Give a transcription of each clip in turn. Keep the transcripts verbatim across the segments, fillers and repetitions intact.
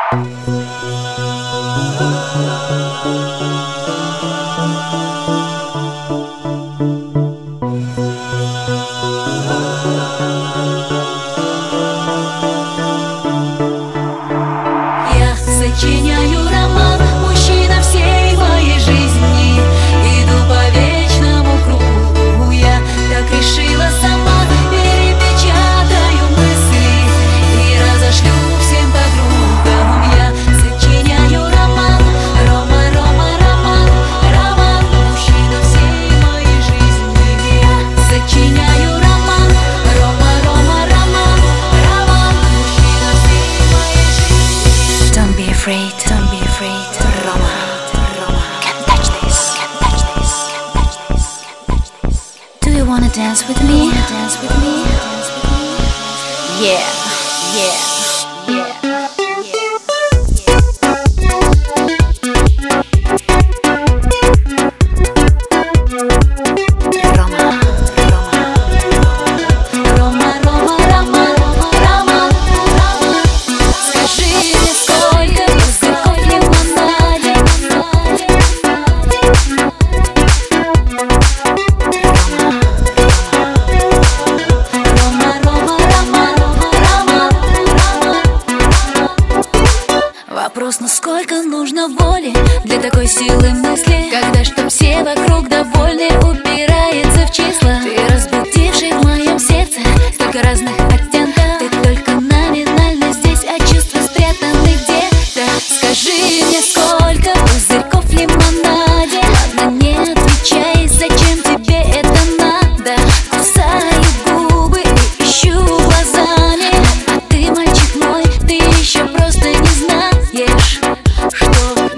Я сочиняю роман, мужчина всей моей жизни. Иду по вечному кругу, я так решила сама. Перепечатаю мысли и разошлю всем подругам. Я сочиняю роман, Рома, Рома, роман, роман, мужчина всей моей жизни. Я сочиняю роман, Рома, Рома, роман, роман, мужчина всей моей жизни. Don't be afraid, don't be afraid, Roma, Roma. Can't touch this, can't touch this, can't touch this, can't touch this. Do you wanna dance with me? Wanna dance with me? Yeah, yeah, yeah, yeah. Roma, Рома, Рома, роман, роман, роман. Скажи мне, сколько пузырьков в лимонаде? Рома, Рома, роман, роман, роман. Вопрос, ну сколько нужно воли для такой силы мысли, когда чтоб все вокруг довольны, упирается в числа. Ты разбудивший в моем сердце столько разных оттенков. Ты только номинально здесь, а чувства спрятаны где-то. Скажи мне, сколько пузырьков в лимонаде? Ладно, не отвечай, зачем тебе это надо? Кусаю губы и ищу глазами. А ты, мальчик мой, ты еще просто не знаешь, что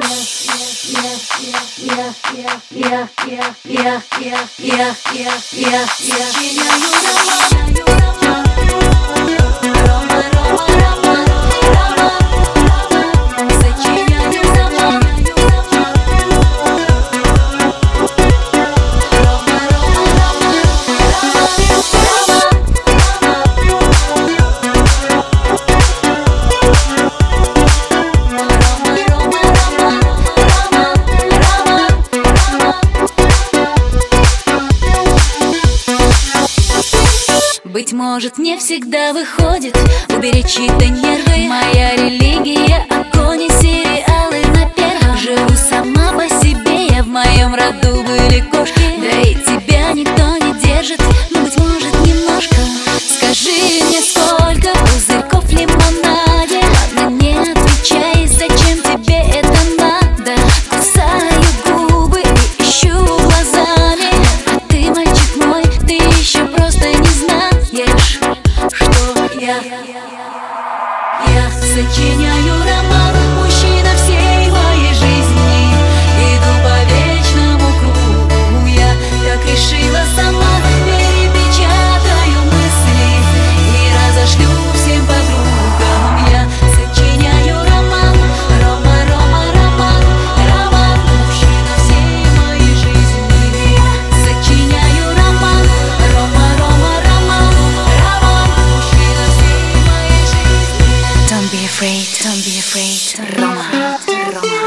я, я, я, я, я, я, я, я, я, я сочиняю роман. Рома, Рома, роман, роман. Сочиняю роман. Рома, Рома, роман, быть может, не всегда выходит уберечь чьи-то нервы. Моя религия — огонь и сериалы на первом. Живу сама по себе, я в моем роду были кошки. Да и тебя никто не держит, но, быть может, немножко. Скажи мне, сколько пузырьков в лимонаде? Ладно, не отвечай, зачем тебе это надо? Кусаю губы и ищу глазами. А ты, мальчик мой, ты еще просто не знаешь, что я. Я сочиняю роман, мужчина всей моей жизни. Иду по вечному кругу, я так решила сама. Перепечатаю мысли и разошлю всем подругам. Я сочиняю роман, Рома, Рома, роман, роман, мужчина всей моей жизни. Я сочиняю роман, Рома, Рома, роман, роман, мужчина всей моей жизни. don't be afraid, don't be afraid, Roma, Roma.